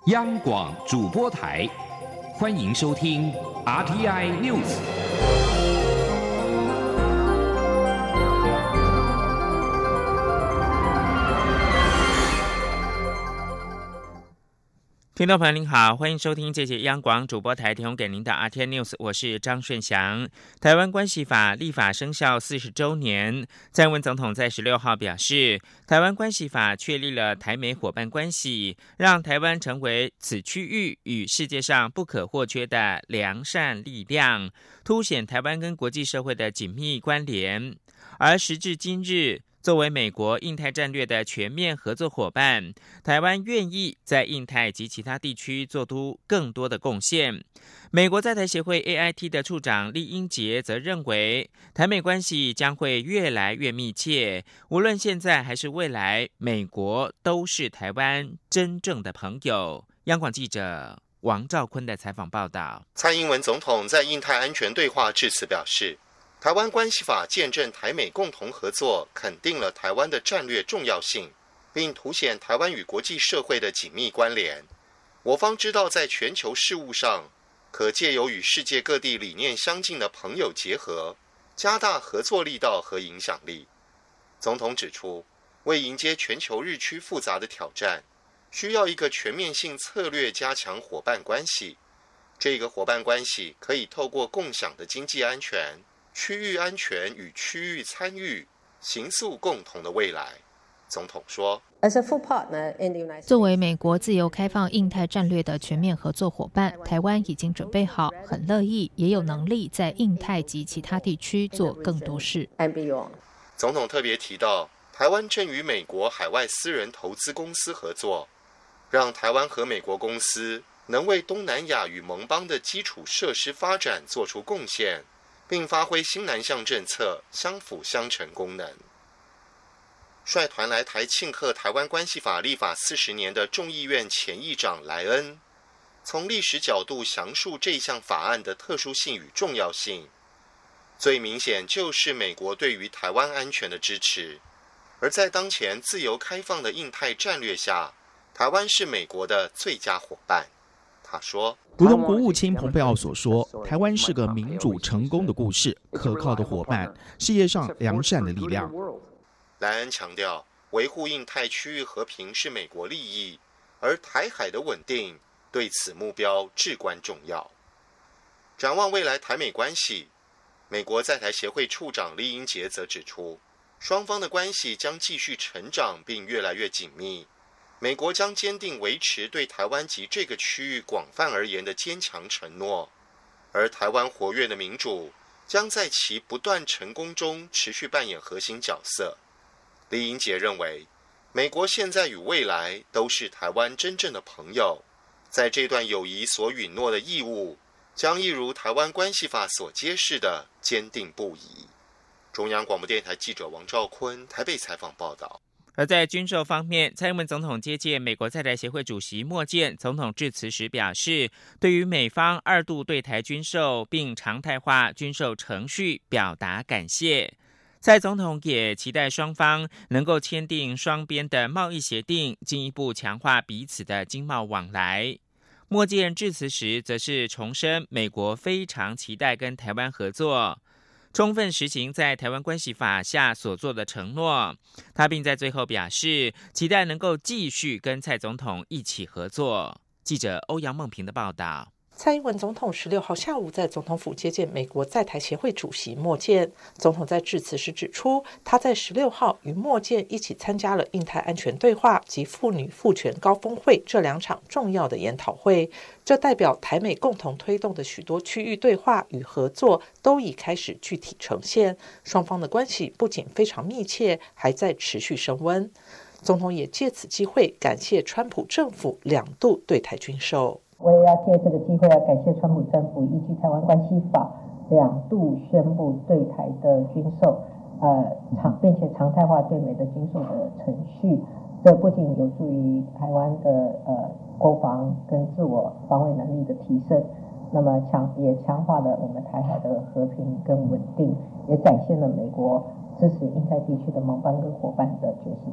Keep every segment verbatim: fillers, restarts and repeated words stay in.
央广主播台，欢迎收听 R T I News。 听众朋友您好，欢迎收听这节央广主播台提供给您的 R T I News， 我是张顺祥。台湾关系法立法生效四十周年，蔡英文总统在十六号表示，台湾关系法确立了台美伙伴关系，让台湾成为此区域与世界上不可或缺的良善力量，凸显台湾跟国际社会的紧密关联。而时至今日，作为美国印太战略的全面合作伙伴，台湾愿意在印太及其他地区做出更多的贡献。美国在台协会 A I T 的处长酈英杰则认为，台美关系将会越来越密切，无论现在还是未来，美国都是台湾真正的朋友。央广记者王兆坤的采访报道。 蔡英文总统在印太安全对话致辞表示，台湾关系法见证台美共同合作，肯定了台湾的战略重要性，并凸显台湾与国际社会的紧密关联。我方知道，在全球事务上，可借由与世界各地理念相近的朋友结合，加大合作力道和影响力。总统指出，为迎接全球日趋复杂的挑战，需要一个全面性策略加强伙伴关系。这个伙伴关系可以透过共享的经济安全、区域安全与区域参与，形塑共同的未来。总统说， 作为美国自由开放印太战略的全面合作伙伴，台湾已经准备好，很乐意，也有能力在印太及其他地区做更多事。 总统特别提到，台湾正与美国海外私人投资公司合作，让台湾和美国公司能为东南亚与盟邦的基础设施发展做出贡献，并发挥新南向政策相辅相成功能。率团来台庆贺台湾关系法立法四十年的众议院前议长莱恩，从历史角度详述这项法案的特殊性与重要性。最明显就是美国对于台湾安全的支持，而在当前自由开放的印太战略下，台湾是美国的最佳伙伴。他说， 如同国务卿蓬佩奥所说，台湾是个民主成功的故事，可靠的伙伴，世界上良善的力量。 莱恩强调，维护印太区域和平是美国利益，而台海的稳定对此目标至关重要。展望未来台美关系，美国在台协会处长酈英杰则指出，双方的关系将继续成长并越来越紧密。美国将坚定维持对台湾及这个区域广泛而言的坚强承诺，而台湾活跃的民主将在其不断成功中持续扮演核心角色。酈英杰认为，美国现在与未来都是台湾真正的朋友，在这段友谊所允诺的义务，将一如台湾关系法所揭示的坚定不移。中央广播电台记者王兆坤台北采访报道。 而在军售方面，蔡英文总统接见美国在台协会主席莫健，总统致辞时表示，对于美方二度对台军售并常态化军售程序表达感谢。蔡总统也期待双方能够签订双边的贸易协定，进一步强化彼此的经贸往来。莫健致辞时则是重申美国非常期待跟台湾合作，充分实行在台湾关系法下所做的承诺。他并在最后表示，期待能够继续跟蔡总统一起合作。记者欧阳梦平的报道。 蔡英文总统十六号下午在总统府接见美国在台协会主席莫健。总统在致辞时指出，他在十六号与莫健一起参加了印太安全对话及妇女赋权高峰会这两场重要的研讨会，这代表台美共同推动的许多区域对话与合作都已开始具体呈现，双方的关系不仅非常密切，还在持续升温。总统也借此机会感谢川普政府两度对台军售。 我也要借这个机会要感谢川普政府依据台湾关系法两度宣布对台的军售，呃，常并且常态化对美的军售的程序。这不仅有助于台湾的呃国防跟自我防卫能力的提升，那么强也强化了我们台海的和平跟稳定，也展现了美国支持印太地区的盟邦跟伙伴的决心。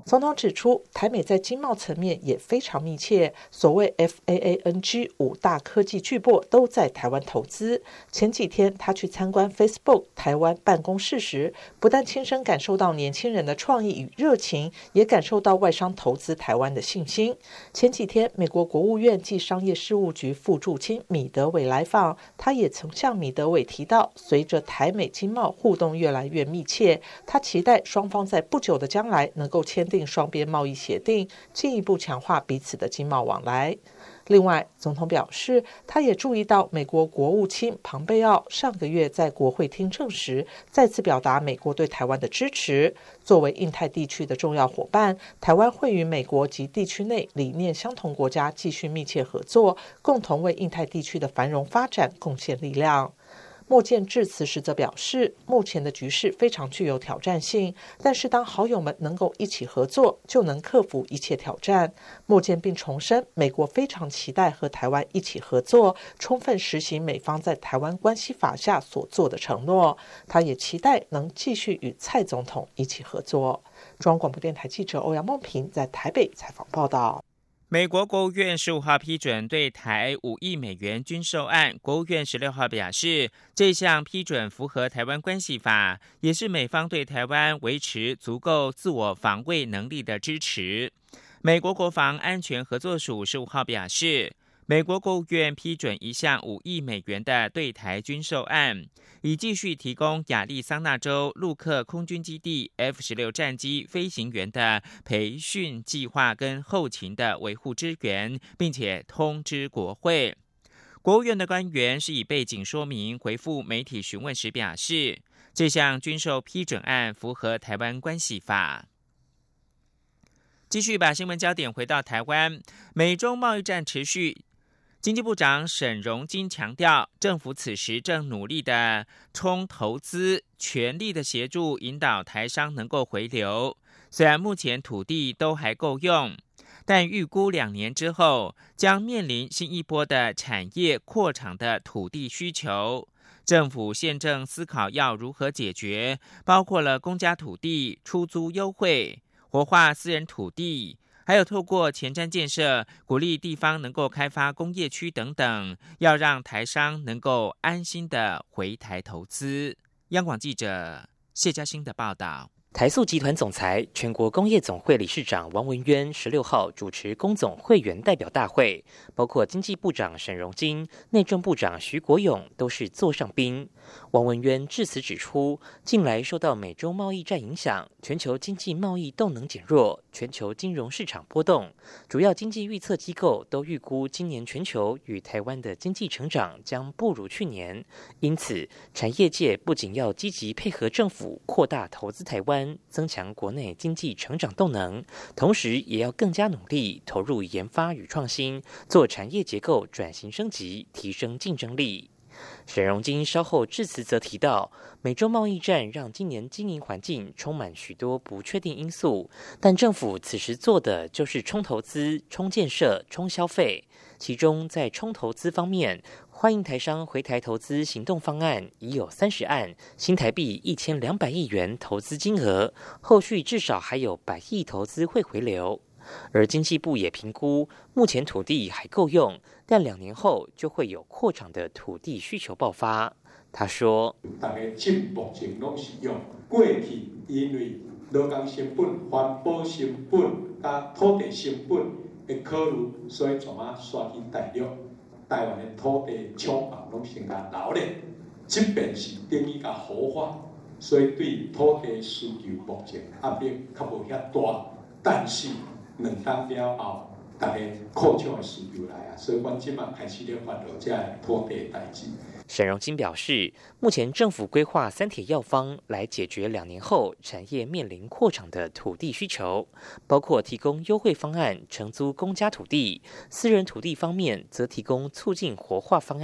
总统指出，台美在经贸层面也非常密切，所谓 F A A N G 五大科技巨擘都在台湾投资。前几天他去参观 Facebook 台湾办公室时，不但亲身感受到年轻人的创意与热情，也感受到外商投资台湾的信心。前几天，美国国务院暨商业事务局副驻青米德伟来访，他也曾向米德伟提到，随着台美经贸互动越来越密切，他期待双方在不久的将来能够签订双边贸易协定，进一步强化彼此的经贸往来。另外，总统表示，他也注意到美国国务卿庞贝奥上个月在国会听证时，再次表达美国对台湾的支持。作为印太地区的重要伙伴，台湾会与美国及地区内理念相同国家继续密切合作，共同为印太地区的繁荣发展贡献力量。莫健致辞时则表示，目前的局势非常具有挑战性，但是当好友们能够一起合作，就能克服一切挑战。莫健并重申，美国非常期待和台湾一起合作，充分实行美方在台湾关系法下所做的承诺。他也期待能继续与蔡总统一起合作。中央广播电台记者欧阳梦平在台北采访报道。 美国国务院十五号批准对台五亿美元军售案，国务院十六号表示，这项批准符合台湾关系法，也是美方对台湾维持足够自我防卫能力的支持。美国国防安全合作署十五号表示，美国国务院批准一项五亿美元的对台军售案，以继续提供亚利桑那州陆克空军基地 F 十六 战机飞行员的培训计划跟后勤的维护支援，并且通知国会。国务院的官员是以背景说明回复媒体询问时表示，这项军售批准案符合台湾关系法。继续把新闻焦点回到台湾，美中贸易战持续。经济部长沈荣津强调，政府此时正努力的冲投资，全力的协助引导台商能够回流。虽然目前土地都还够用，但预估两年之后将面临新一波的产业扩厂的土地需求。政府现正思考要如何解决，包括了公家土地出租优惠、活化私人土地，还有透过前瞻建设鼓励地方能够开发工业区等等，要让台商能够安心的回台投资。央广记者谢嘉欣的报道。 台塑集团总裁、全国工业总会理事长王文渊十六号主持工总会员代表大会，包括经济部长沈荣津、内政部长徐国勇都是座上宾。王文渊致辞指出，近来受到美洲贸易战影响，全球经济贸易动能减弱，全球金融市场波动，主要经济预测机构都预估今年全球与台湾的经济成长将不如去年。因此，产业界不仅要积极配合政府扩大投资台湾，增强国内经济成长动能，同时也要更加努力投入研发与创新，做产业结构转型升级，提升竞争力。沈荣津稍后致辞则提到，美洲贸易战让今年经营环境充满许多不确定因素，但政府此时做的就是冲投资、冲建设、冲消费。其中在冲投资方面，欢迎台商回台投资行动方案已有三十案，新台币一千两百亿元投资金额，后续至少还有百亿投资会回流。而经济部也评估，目前土地还够用，但两年后就会有扩厂的土地需求爆发。他说：“大家进目前拢是用过去因为劳工成本、环保成本、加土地成本的考虑，所以从啊刷去大陆，台湾的土地厂房拢先加留咧，即便是等于加活化，所以对土地需求目前压力较无遐大，但是。”两当了后，大家扩张的需求来啊，所以阮即马开始咧发落这土地的代志。沈荣津表示，目前政府规划三铁药方来解决两年后产业面临扩厂的土地需求，包括提供优惠方案承租公家土地，私人土地方面则提供促进活化方案，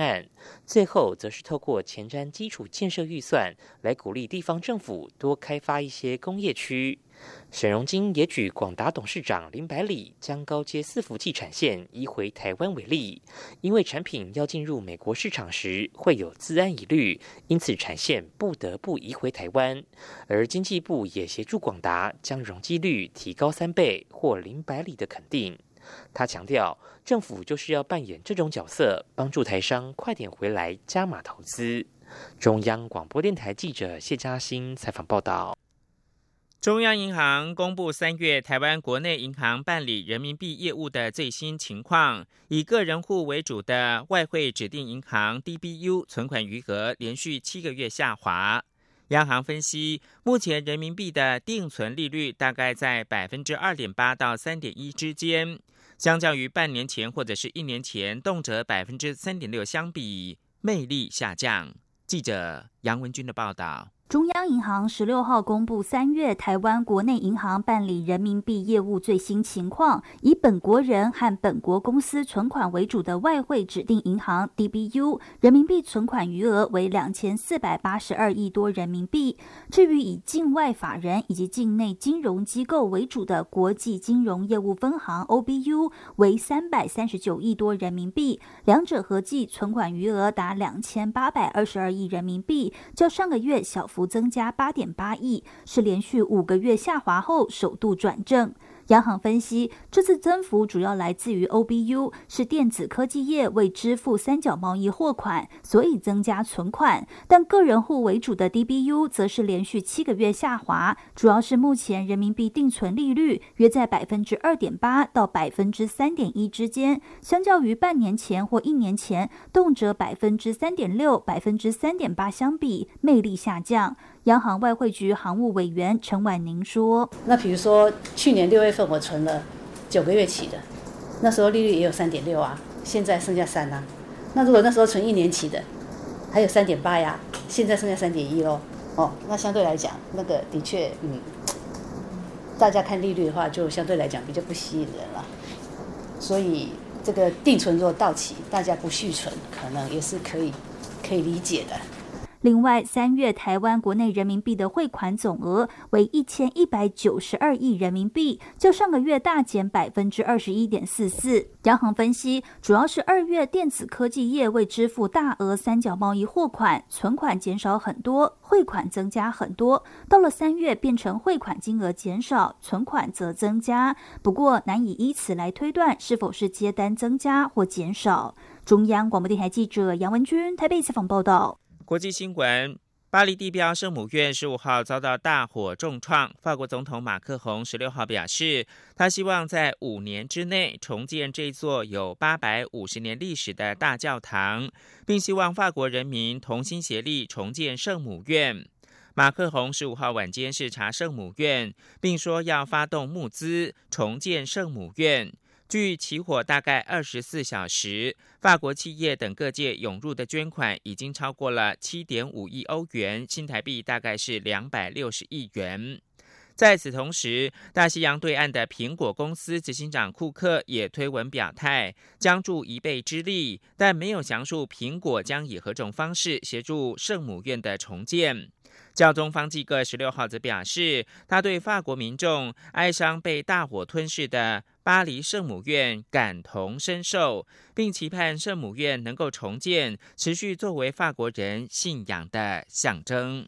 最后则是透过前瞻基础建设预算来鼓励地方政府多开发一些工业区。沈荣津也举广达董事长林百里将高阶伺服器产线移回台湾为例，因为产品要进入美国市场时会有资安疑虑，因此产线不得不移回台湾。而经济部也协助广达将容积率提高三倍，获林百里的肯定。他强调，政府就是要扮演这种角色，帮助台商快点回来加码投资。中央广播电台记者谢嘉欣采访报道。 中央银行公布三月台湾国内银行办理人民币业务的最新情况，以个人户为主的外汇指定银行 D B U 存款余额连续七个月下滑。央行分析，目前人民币的定存利率大概在 百分之二点八 到 三点一 之间，相较于半年前或者是一年前动辄 百分之三点六 相比，魅力下降。记者杨文君的报道。 中央银行十六号公布三月台湾国内银行办理人民币业务最新情况，以本国人和本国公司存款为主的外汇指定银行 D B U 人民币存款余额为两千四百八十二亿多人民币。至于以境外法人以及境内金融机构为主的国际金融业务分行 O B U 为三百三十九亿多人民币，两者合计存款余额达两千八百二十二亿人民币，较上个月小幅增加 八点八亿，是连续五个月下滑后首度转正。央行分析，这次增幅主要来自于 O B U 是电子科技业为支付三角贸易货款，所以增加存款，但个人户为主的 D B U 则是连续七个月下滑，主要是目前人民币定存利率约在 百分之二点八 到 百分之三点一 之间，相较于半年前或一年前动辄 百分之三点六、百分之三点八 相比，魅力下降。央行外汇局行务委员陈婉宁说， 那比如说去年六月份我存了九个月期的，那时候利率也有 三点六 啊，现在剩下三啊。那如果那时候存一年期的还有 三点八 呀，现在剩下 三点一 咯。哦，那相对来讲那个的确嗯，大家看利率的话就相对来讲比较不吸引人了，所以这个定存如果到期大家不续存，可能也是可以可以理解的。 另外，三月台湾国内人民币的汇款总额为一千一百九十二亿人民币，较上个月大减 百分之二十一点四四。央行分析，主要是二月电子科技业为支付大额三角贸易货款，存款减少很多，汇款增加很多。到了三月，变成汇款金额减少，存款则增加。不过，难以依此来推断是否是接单增加或减少。中央广播电台记者杨文君台北采访报道。 国际新闻：巴黎地标圣母院十五号遭到大火重创。法国总统马克宏十六号表示，他希望在五年之内重建这座有八百五十年历史的大教堂，并希望法国人民同心协力重建圣母院。马克宏十五号晚间视察圣母院，并说要发动募资重建圣母院。据起火大概二十四小时，法国企业等各界涌入的捐款已经超过了 七点五亿欧元，新台币大概是两百六十亿元。在此同时，大西洋对岸的苹果公司执行长库克也推文表态，将助一臂之力，但没有详述苹果将以何种方式协助圣母院的重建。教宗方济各十六号则表示，他对法国民众哀伤被大火吞噬的巴黎圣母院感同身受，并期盼圣母院能够重建，持续作为法国人信仰的象征。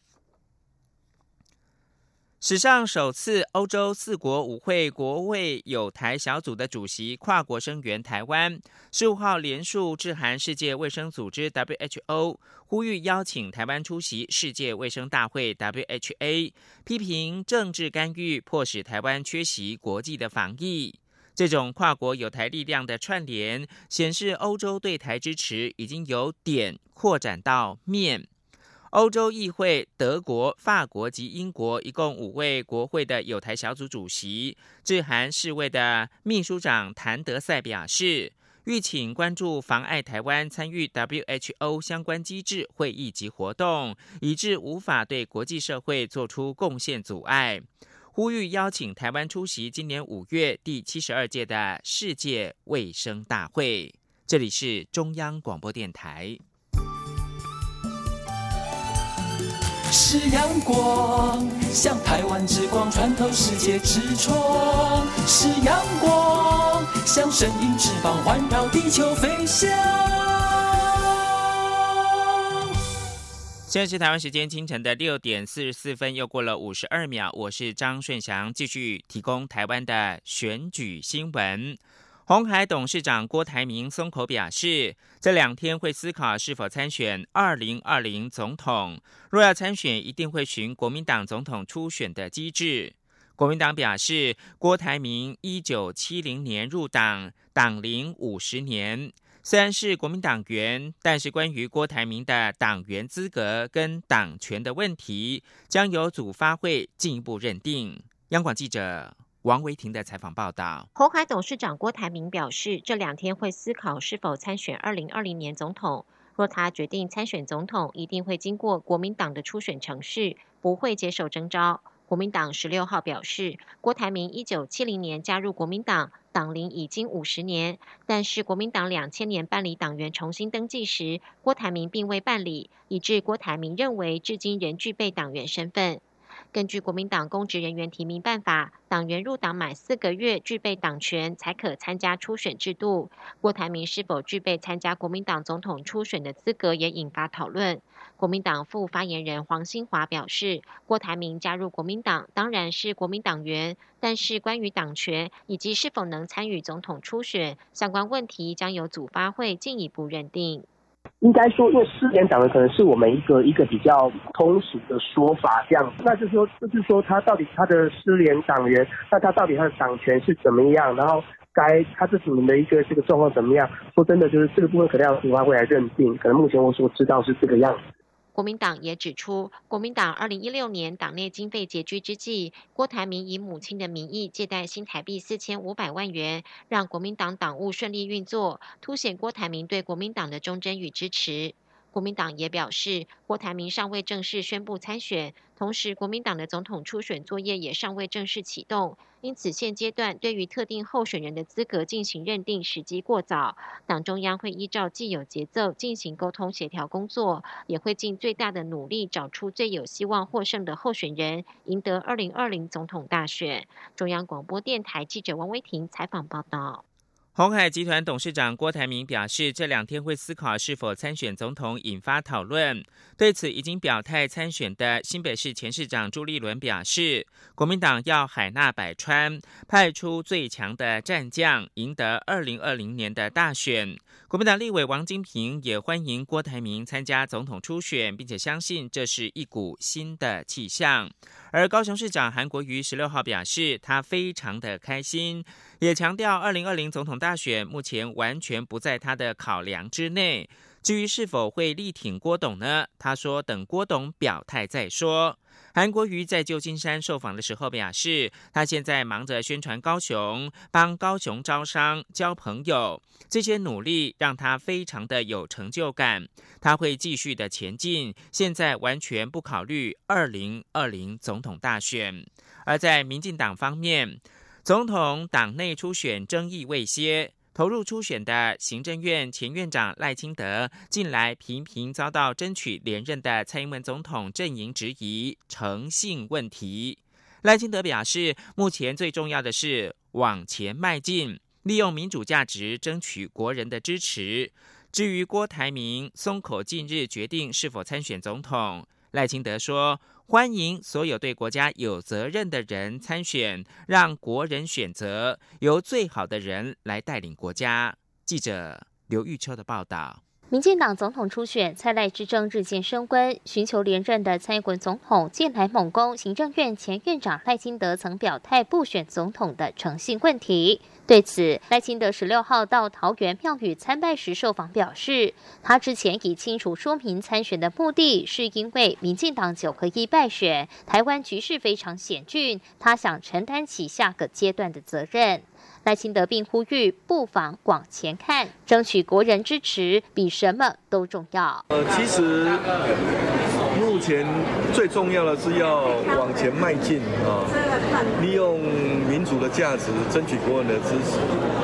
史上首次，欧洲四国舞会国卫友台小组的主席跨国声援台湾，十五号联署致函世界卫生组织 W H O， 呼吁邀请台湾出席世界卫生大会 W H A， 批评政治干预迫使台湾缺席国际的防疫。这种跨国友台力量的串联，显示欧洲对台支持已经由点扩展到面。欧洲议会、德国、法国及英国一共五位国会的友台小组主席致函世卫的秘书长谭德赛表示，吁请关注妨碍台湾参与 W H O 相关机制会议及活动，以致无法对国际社会做出贡献阻碍，呼吁邀请台湾出席今年五月第七十二届的世界卫生大会。这里是中央广播电台。 是阳光，像台湾之光穿透世界之窗；是阳光，像神鹰翅膀环绕地球飞翔。 现在是台湾时间清晨的六点四十四分，又过了五十二秒。我是张顺祥，继续提供台湾的选举新闻。鸿海董事长郭台铭松口表示，这两天会思考是否参选二零二零总统。若要参选，一定会循国民党总统初选的机制。国民党表示，郭台铭一九七零年入党，党龄五十年。虽然是国民党员，但是关于郭台铭的党员资格跟党权的问题，将由组发会进一步认定。央广记者王维婷的采访报道。 鸿海董事长郭台铭表示，这两天会思考是否参选二零二零年总统。若他决定参选总统，一定会经过国民党的初选程序，不会接受征召。国民党十六号表示，郭台铭一九七零年加入国民党，党龄已经五十年，但是国民党两千年办理党员重新登记时，郭台铭并未办理，以致郭台铭认为至今仍具备党员身份。根据国民党公职人员提名办法，党员入党满四个月具备党权才可参加初选制度。郭台铭是否具备参加国民党总统初选的资格也引发讨论。国民党副发言人黄兴华表示，郭台铭加入国民党当然是国民党员，但是关于党权以及是否能参与总统初选相关问题，将由组发会进一步认定。 应该说，因为失联党员可能是我们一个一个比较通俗的说法，这样，那就是说，就是说他到底他的失联党员，那他到底他的党权是怎么样，然后该他这几年的一个这个状况怎么样？说真的，就是这个部分可能要组发会来认定，可能目前我所知道是这个样子。 国民党也指出，国民党二零一六年党内经费拮据之际，郭台铭以母亲的名义借贷新台币四千五百万元，让国民党党务顺利运作，凸显郭台铭对国民党的忠贞与支持。国民党也表示，郭台铭尚未正式宣布参选，同时国民党的总统初选作业也尚未正式启动，因此现阶段对于特定候选人的资格进行认定时机过早。党中央会依照既有节奏进行沟通协调工作，也会尽最大的努力找出最有希望获胜的候选人，赢得二零二零总统大选。中央广播电台记者王威婷采访报道。 鸿海集团董事长郭台铭表示，这两天会思考是否参选总统，引发讨论。对此，已经表态参选的新北市前市长朱立伦表示，国民党要海纳百川，派出最强的战将，赢得二零二零年的大选。国民党立委王金平也欢迎郭台铭参加总统初选，并且相信这是一股新的气象。而高雄市长韩国瑜十六号表示，他非常的开心，也强调二零二零总统大选目前完全不在他的考量之内。至于是否会力挺郭董呢？他说等郭董表态再说。韩国瑜在旧金山受访的时候表示，他现在忙着宣传高雄，帮高雄招商、交朋友，这些努力让他非常的有成就感。他会继续的前进，现在完全不考虑二零二零总统大选。而在民进党方面，总统党内初选争议未歇。投入初选的行政院前院长赖清德，近来频频遭到争取连任的蔡英文总统阵营质疑诚信问题。赖清德表示，目前最重要的是往前迈进，利用民主价值争取国人的支持。至于郭台铭松口近日决定是否参选总统，赖清德说，欢迎所有对国家有责任的人参选，让国人选择，由最好的人来带领国家。记者刘玉秋的报道。 民进党总统初选，蔡赖之争日渐升温，寻求连任的蔡英文总统近来猛攻行政院前院长赖清德曾表态不选总统的诚信问题。对此，赖清德十六号到桃园庙宇参拜时受访表示，他之前已清楚说明参选的目的是因为民进党九合一败选，台湾局势非常险峻，他想承担起下个阶段的责任。赖清德并呼吁不妨往前看，争取国人支持比什么都重要。 呃，其实目前最重要的是要往前迈进啊，利用民主的价值争取国人的支持。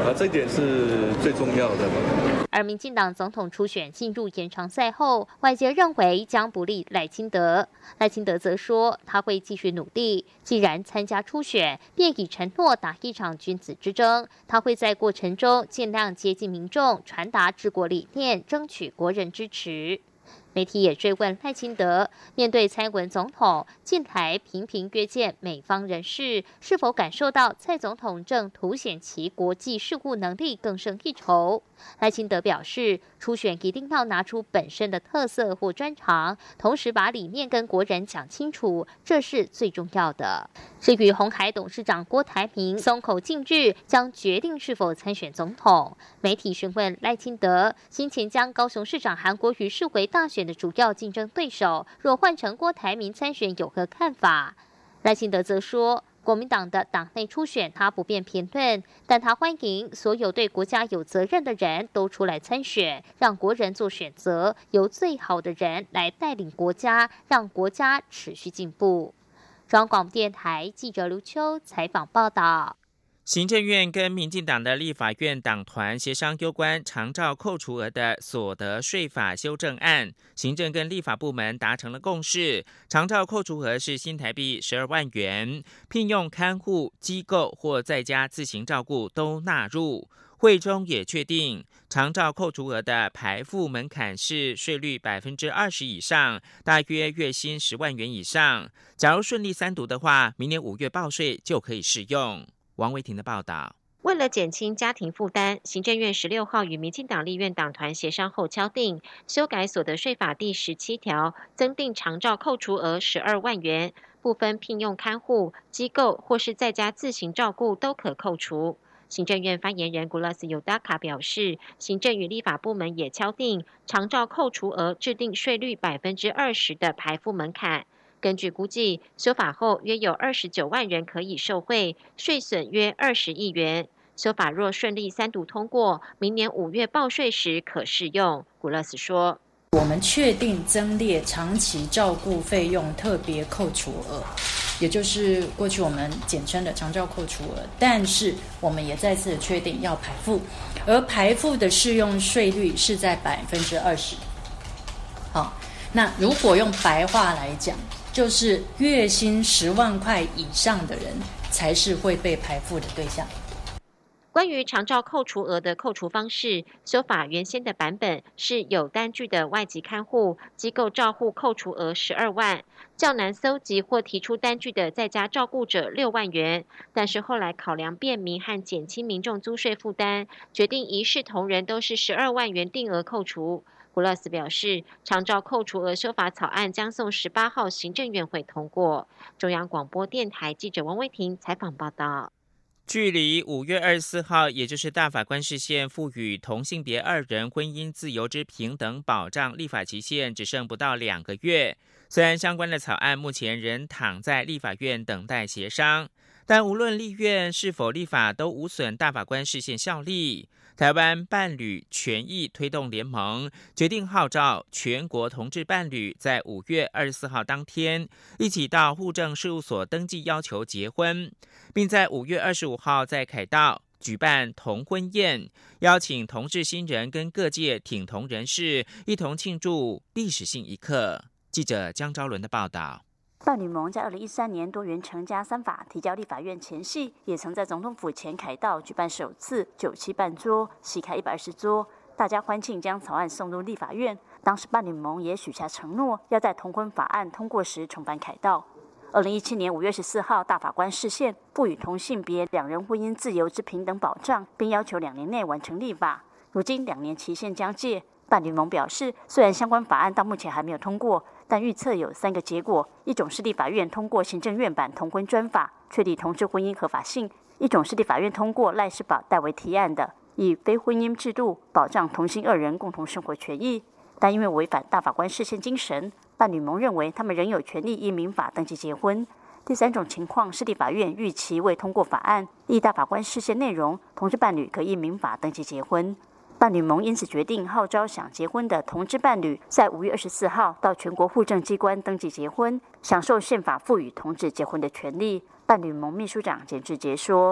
啊，这一点是最重要的嘛。 而民进党总统初选进入延长赛后，外界认为将不利赖清德。赖清德则说，他会继续努力。既然参加初选，便已承诺打一场君子之争。他会在过程中尽量接近民众，传达治国理念，争取国人支持。媒体也追问赖清德，面对蔡英文总统近来频频约见美方人士，是否感受到蔡总统正凸显其国际事务能力更胜一筹？赖清德表示，初选一定要拿出本身的特色或专长，同时把理念跟国人讲清楚，这是最重要的。至于鸿海董事长郭台铭松口近日将决定是否参选总统，媒体询问赖清德，先前将高雄市长韩国瑜视为大选的主要竞争对手，若换成郭台铭参选有何看法？赖清德则说，国民党的党内初选他不便评论，但他欢迎所有对国家有责任的人都出来参选，让国人做选择，由最好的人来带领国家，让国家持续进步。中央广播电台记者刘秋采访报道。 行政院跟民进党的立法院党团协商有关长照扣除额的所得税法修正案，行政跟立法部门达成了共识，长照扣除额是新台币十二万元，聘用看护机构或在家自行照顾都纳入。会中也确定，长照扣除额的排付门槛是税率百分之二十以上，大约月薪十万元以上。假如顺利三读的话，明年五月报税就可以适用。王维婷的报道。 为了减轻家庭负担，行政院十六号与民进党立院党团协商后敲定，修改所得税法第十七条，增订长照扣除额十二万元，不分聘用看护机构或是在家自行照顾都可扣除。行政院发言人古拉斯尤达卡表示，行政与立法部门也敲定长照扣除额制定税率百分之二十的排付门槛。根据估计，修法后约有二十九万人可以受惠，税损约二十亿元。修法若顺利三读通过，明年五月报税时可适用。古勒斯说， 我们确定增列长期照顾费用特别扣除额，也就是过去我们简称的长照扣除额，但是我们也再次确定要排付，而排付的适用税率是在百分之二十。好，那如果用白话来讲，就是月薪十万块以上的人才是会被排付的对象。 关于长照扣除额的扣除方式，修法原先的版本是有单据的外籍看护机构照护扣除额十二万，较难搜集或提出单据的在家照顾者六万元。但是后来考量便民和减轻民众租税负担，决定一视同仁，都是十二万元定额扣除。古勒斯表示，长照扣除额修法草案将送十八号行政院会通过。中央广播电台记者王威婷采访报道。 距离五月二十四号，也就是大法官释宪赋予同性别二人婚姻自由之平等保障立法期限只剩不到两个月。虽然相关的草案目前仍躺在立法院等待协商，但无论立院是否立法，都无损大法官释宪效力。台湾伴侣权益推动联盟决定号召全国同志伴侣在五月二十四号当天一起到户政事务所登记要求结婚，并在五月二十五号在凯道举办同婚宴，邀请同志新人跟各界挺同人士一同庆祝历史性一刻。记者江昭伦的报道。 伴侣盟在二零一三年多元成家三法提交立法院前夕，也曾在总统府前凯道举办首次酒席办桌，席开一百二十桌，大家欢庆将草案送入立法院。当时伴侣盟也许下承诺，要在同婚法案通过时重返凯道。二零一七年五月十四号，大法官释宪，赋予同性别两人婚姻自由之平等保障，并要求两年内完成立法。如今两年期限将届，伴侣盟表示，虽然相关法案到目前还没有通过，但预测有三个结果：一种是立法院通过行政院版同婚专法，确立同志婚姻合法性；一种是立法院通过赖士宝代为提案的，以非婚姻制度保障同性二人共同生活权益。但因为违反大法官释宪精神，伴侣盟认为他们仍有权利依民法登记结婚。第三种情况是立法院预期未通过法案，依大法官释宪内容，同志伴侣可依民法登记结婚。伴侣盟因此决定号召想结婚的同志伴侣，在五月二十四号到全国户政机关登记结婚，享受宪法赋予同志结婚的权利。伴侣盟秘书长简志杰说：“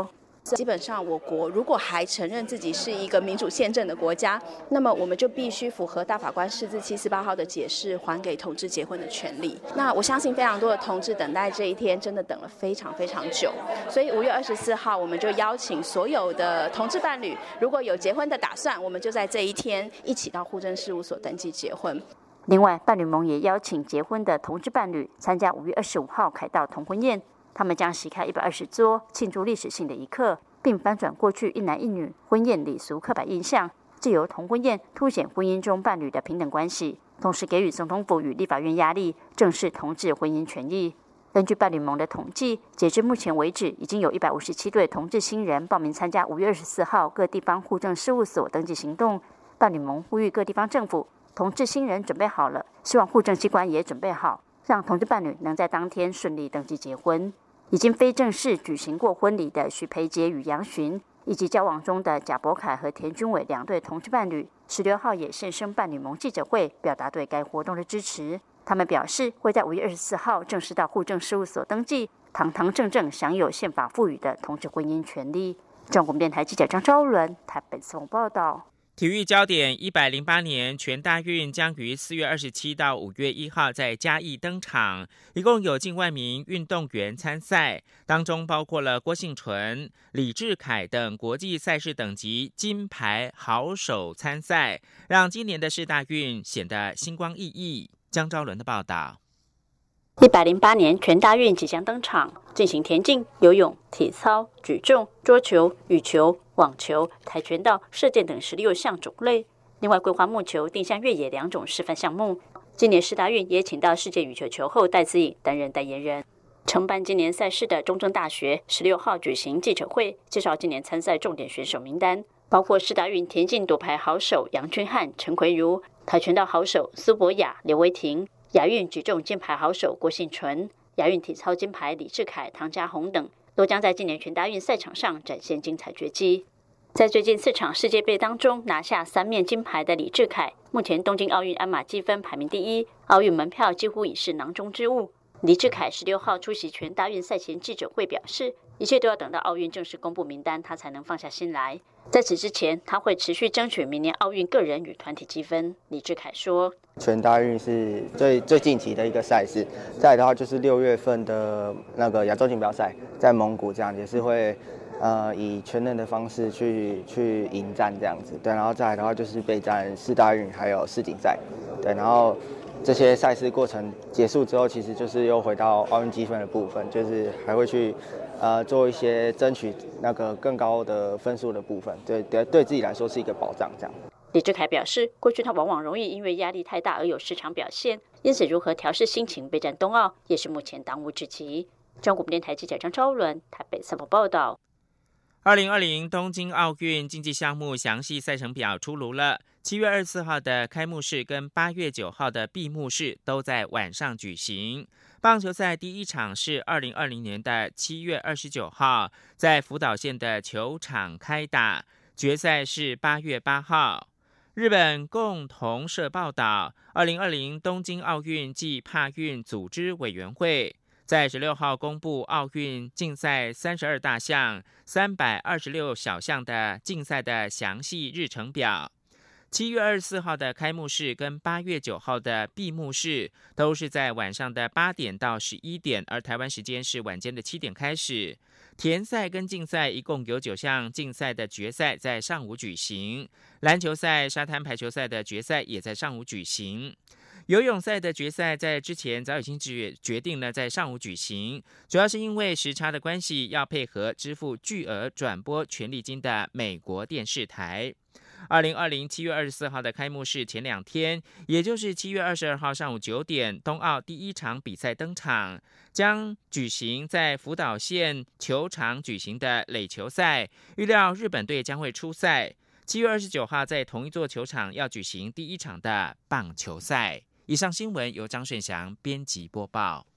基本上我国如果还承认自己是一个民主宪政的国家，那么我们就必须符合大法官释字七四八号的解释，还给同志结婚的权利。那我相信非常多的同志等待这一天真的等了非常非常久，所以五月二十四号我们就邀请所有的同志伴侣，如果有结婚的打算，我们就在这一天一起到户政事务所登记结婚。 另外，伴侣盟也邀请结婚的同志伴侣参加五月二十五号凯道同婚宴，他们将席开一百二十桌，庆祝历史性的一刻，并翻转过去一男一女婚宴礼俗刻板印象，藉由同婚宴凸显婚姻中伴侣的平等关系，同时给予总统府与立法院压力，正视同志婚姻权益。根据伴侣盟的统计，截至目前为止，已经有一百五十七对同志新人报名参加五月二十四号各地方户政事务所登记行动。伴侣盟呼吁各地方政府，同志新人准备好了，希望户政机关也准备好，让同志伴侣能在当天顺利登记结婚。已经非正式举行过婚礼的许培杰与杨寻，以及交往中的贾博凯和田君伟两对同志伴侣，十六号也现身伴侣盟记者会，表达对该活动的支持。他们表示会在五月二十四号正式到户政事务所登记，堂堂正正享有宪法赋予的同志婚姻权利。中国电台记者张昭伦台北采访报道。 体育焦点：一百零八年全大运将于四月二十七到五月一号在嘉义登场，一共有近万名运动员参赛，当中包括了郭婞淳、李智凯等国际赛事等级金牌好手参赛，让今年的世大运显得星光熠熠。江昭伦的报道。 一百零八年全大运即将登场，进行田径、游泳、体操、举重、桌球、羽球、网球、跆拳道、射箭等十六项种类。另外规划木球、定向越野两种示范项目。今年世大运也请到世界羽球球后戴资颖担任代言人。承办今年赛事的中正大学十六号举行记者会，介绍今年参赛重点选手名单，包括世大运田径夺牌好手杨君翰、陈奎如，跆拳道好手苏博雅、刘维婷，亚运举重金牌好手郭婞淳，亚运体操金牌李智凯、唐家宏等，都将在今年全大运赛场上展现精彩绝技。在最近四场世界杯当中拿下三面金牌的李智凯，目前东京奥运鞍马积分排名第一，奥运门票几乎已是囊中之物。李智凯十六号出席全大运赛前记者会表示，一切都要等到奥运正式公布名单，他才能放下心来。在此之前，他会持续争取明年奥运个人与团体积分。李智凯说， 全大运是最最近期的一个赛事，再来的话就是六月份的那个亚洲锦标赛，在蒙古这样也是会呃以全能的方式去去迎战这样子，对，然后再来的话就是备战世大运还有世锦赛，对，然后这些赛事过程结束之后，其实就是又回到奥运积分的部分，就是还会去呃做一些争取那个更高的分数的部分，对对，对自己来说是一个保障这样。 李智凯表示，过去他往往容易因为压力太大而有失常表现，因此如何调试心情备战冬奥也是目前当务之急。中国电台记者张昭伦台北采访报道。 二零二零东京奥运竞技项目详细赛程表出炉了，七月二十四号的开幕式跟八月九号的闭幕式都在晚上举行。棒球赛第一场是二零二零年的七月二十九号在福岛县的球场开打，决赛是八月八号。日本共同社报道，二零二零东京奥运暨帕运组织委员会在十六号公布奥运竞赛三十二大项、三百二十六小项的竞赛的详细日程表。七月二十四号的开幕式跟八月九号的闭幕式都是在晚上的八点到十一点，而台湾时间是晚间的七点开始。田赛跟竞赛一共有九项竞赛的决赛在上午举行，篮球赛、沙滩排球赛的决赛也在上午举行。游泳赛的决赛在之前早已经决定了在上午举行，主要是因为时差的关系，要配合支付巨额转播权利金的美国电视台。二零二零七月二十四号的开幕式前两天，也就是七月二十二号上午九点，冬奥第一场比赛登场，将举行在福岛县球场举行的垒球赛，预料日本队将会出赛。七月二十九号在同一座球场要举行第一场的棒球赛。以上新闻由张顺祥编辑播报。